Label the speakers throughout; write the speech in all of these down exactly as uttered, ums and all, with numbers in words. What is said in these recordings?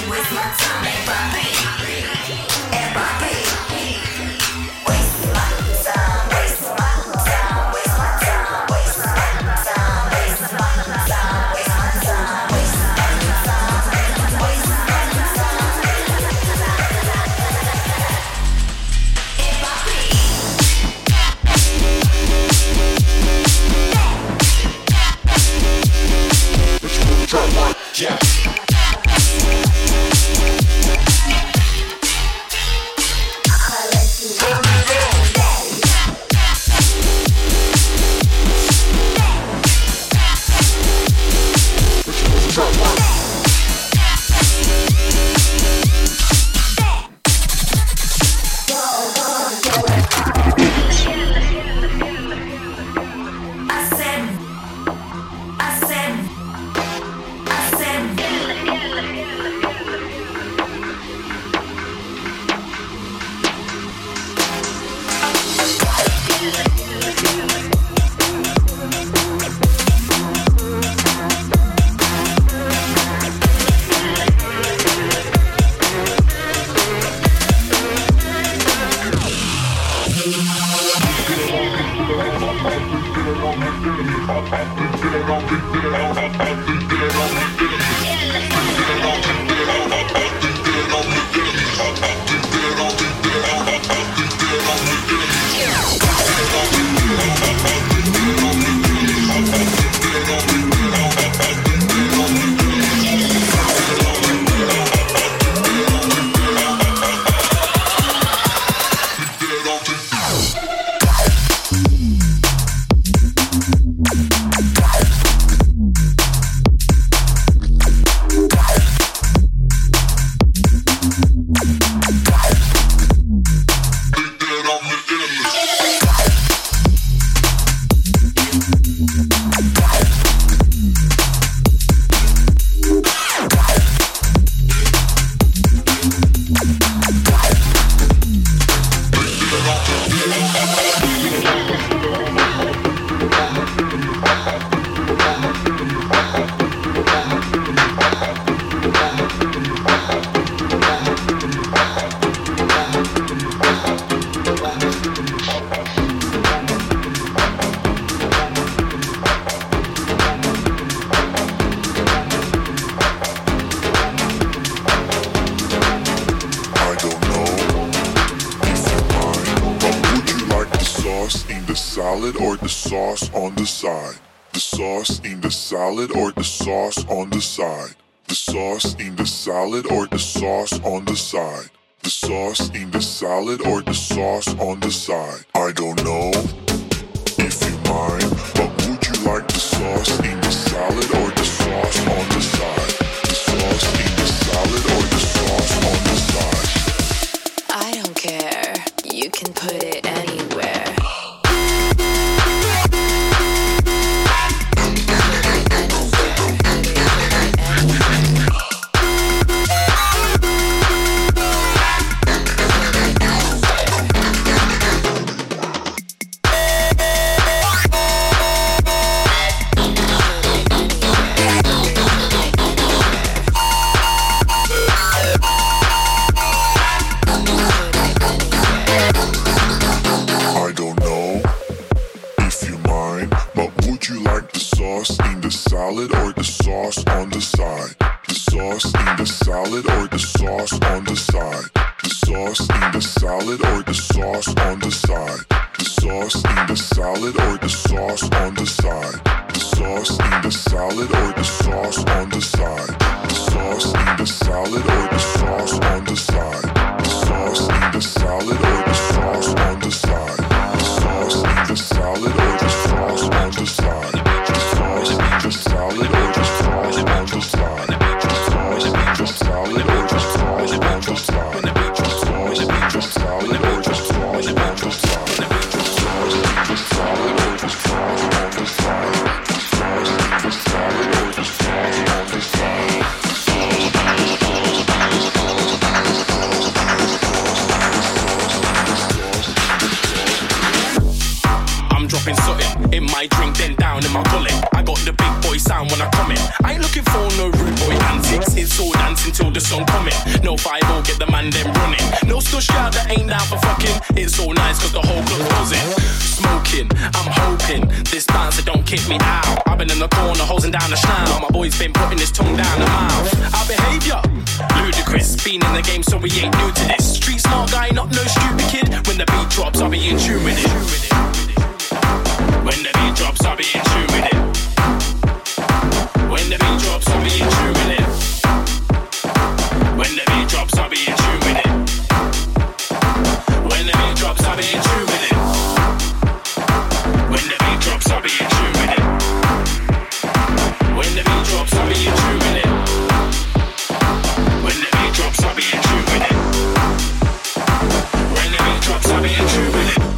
Speaker 1: salad or the sauce on the side. The sauce in the salad or the sauce on the side. The sauce in the salad or the sauce on the side. The sauce in the salad or the sauce on the side. I don't know if you mind, but would you like the sauce in the salad or the sauce on the side? The sauce in the salad or the sauce on the side.
Speaker 2: I don't care. You can put it anywhere.
Speaker 1: Salad or the sauce on the side. The sauce in the salad or the sauce on the side. The sauce in the salad or the sauce on the side. The sauce in the salad or the sauce on the side. The sauce in the salad or the sauce on the side. The sauce in the salad or the sauce on the side. The sauce in the salad or the sauce on the side. The sauce in the salad or the sauce on the side. Just salad or just sauce on the side. Just sauce, just salad or just sauce on the side. Just sauce, just salad or just sauce on the side. Just sauce, just salad or just sauce on the side. Just sauce, just salad or just sauce on the side.
Speaker 3: I'm dropping something in my drink, then down in my gullet. Sound when I come in. I ain't looking for no rude boy antics. It's all dancing till the song coming. No five oh, get the man them running. No stush guy that ain't down for fucking. It's so nice cause the whole club buzzing. Smoking, I'm hoping this bouncer don't kick me out. I've been in the corner hosing down the snout. My boy's been putting his tongue down the mouth. Our behaviour, ludicrous. Been in the game so we ain't new to this. Street smart guy, not no stupid kid. When the beat drops, I'll be in tune with it. When the beat drops, I'll be in tune with it. When the beat drops, I'll be in tune with it. When the beat drops, I'll be in tune with it. When the beat drops, I'll be in tune with it. When the beat drops, I'll be in tune with it. When the beat drops, I'll be in tune with it. When the beat drops, I'll be in tune with it. When the beat drops, I'll be in tune with it.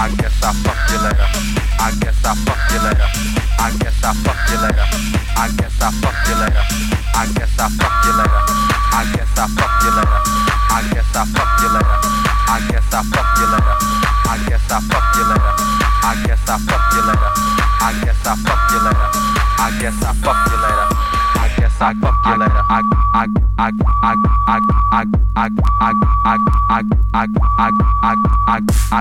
Speaker 4: I guess I'll fuck you later. I guess I'll fuck you later. I guess I'll fuck you later. I guess I'll fuck you later. I guess I'll fuck you later. I guess I'll fuck you later. I guess I'll fuck you later. I guess I'll fuck you later. I guess I'll fuck you later. I guess I'll fuck you later. I guess I'll fuck you later. I guess I'll fuck you later. I guess I'll fuck you later. I I I I I I I I I I I I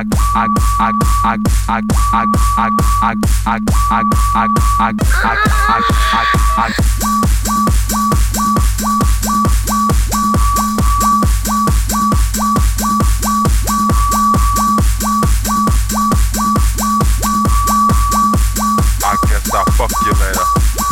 Speaker 4: I guess I'll fuck you later.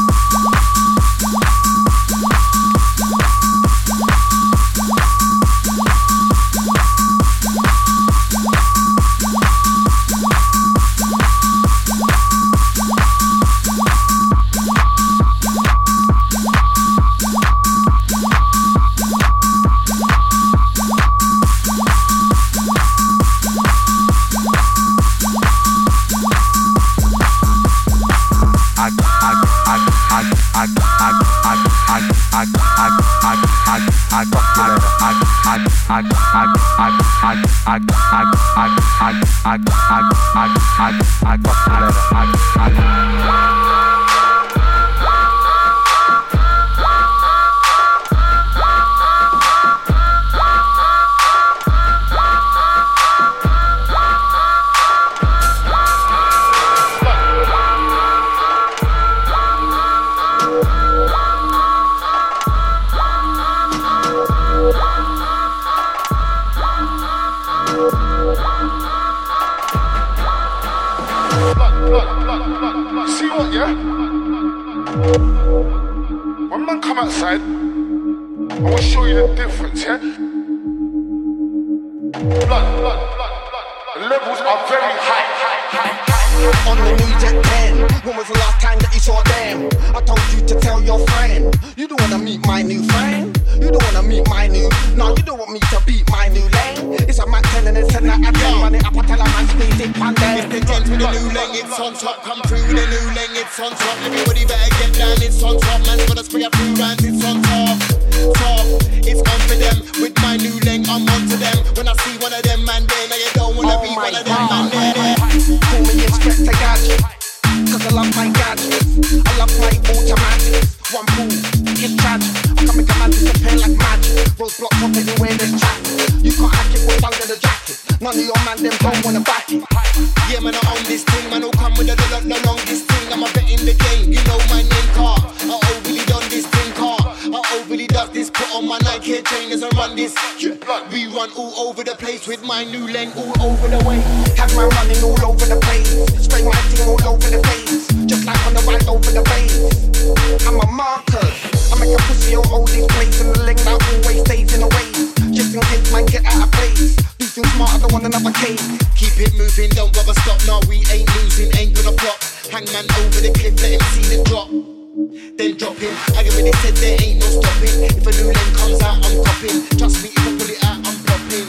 Speaker 5: With my new lane all over the way. Have my running all over the place. Spray my team all over the face. Just like on the ride over the base. I'm a marker. I make a pussy all over this place. And the lane that always stays in the way. Just in case man get out of place. Do things smart, I don't want another case. Keep it moving, don't bother stop. No, we ain't losing, ain't gonna flop. Hangman over the cliff, let him see the drop. Then drop him. I already said there ain't no stopping. If a new lane comes out, I'm popping. Trust me, if I pull it out, I'm popping.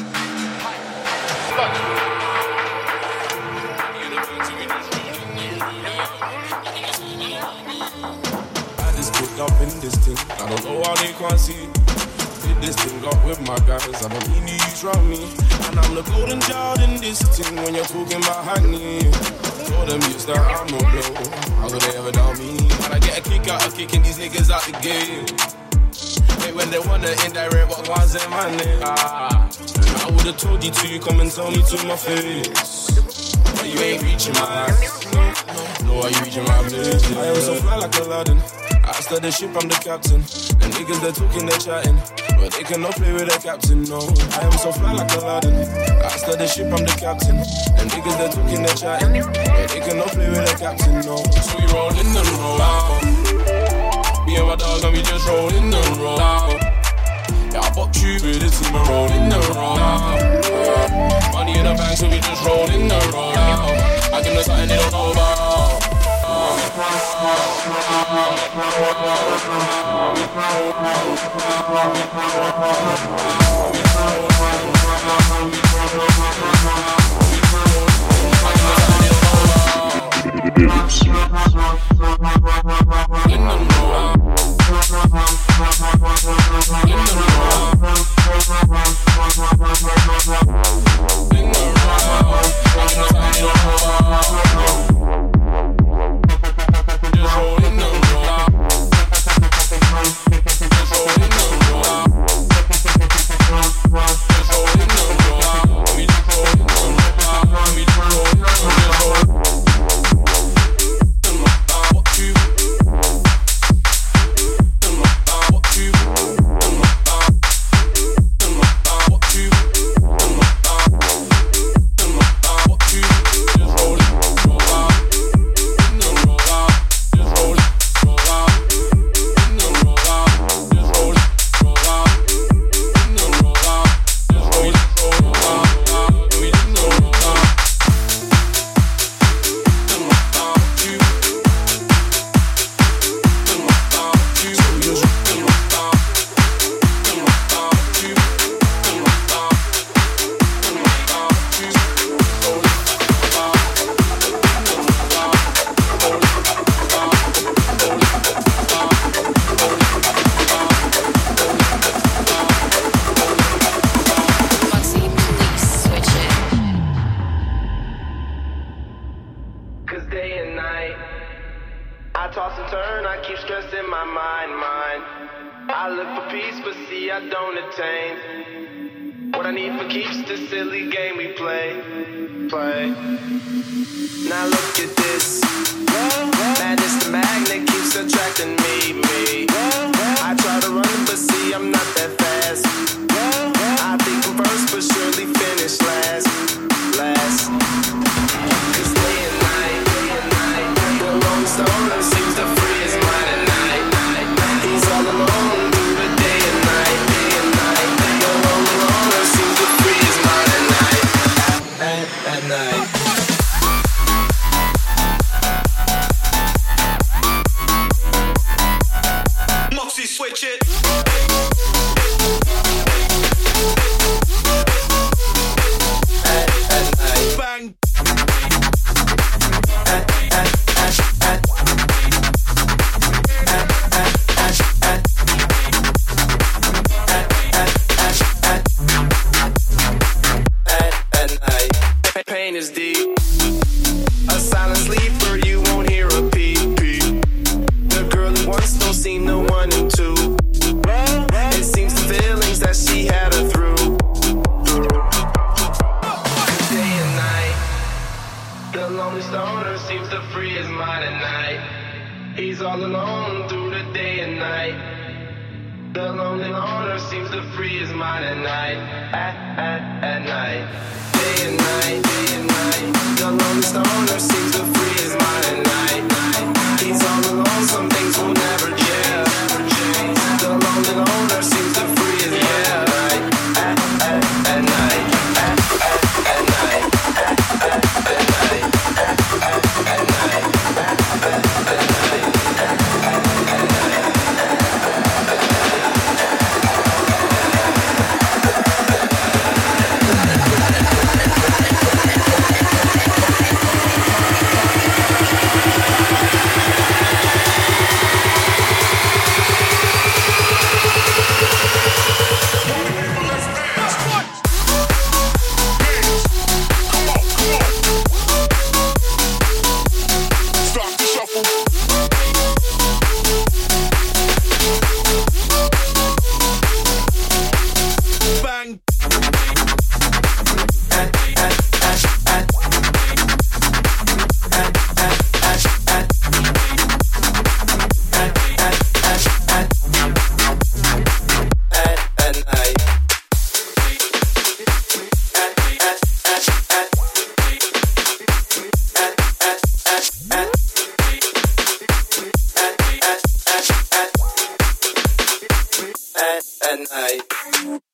Speaker 6: Up in this thing, I don't know how they can't see. Did this thing up with my guys, I don't need news round me. And I'm the golden child in this thing when you're talking about Hackney. Told them you that I'm no blow, how could they ever doubt me? And I get a kick out of kicking these niggas out the game. Hey, when they wanna indirect what was in my name. Ah, I would've told you to, come and tell me to my face. But you ain't reaching my ass. No, are you reaching my place? I am so fly like Aladdin. I start the ship, I'm the captain. And niggas, they're talking, they're chatting. But they cannot play with the captain, no. I am so fly like Aladdin. I start the ship, I'm the captain. And niggas, they're talking, they're chatting. But they cannot play with the captain, no. So we roll in and roll out. Me and my dog, and we just roll in and roll out. Yeah, I box you with the team and roll in and roll out. Money in the bank, so we just roll in and roll out. I give them something they don't know about.
Speaker 7: Seems to free his mind at night, at, at night, day and night.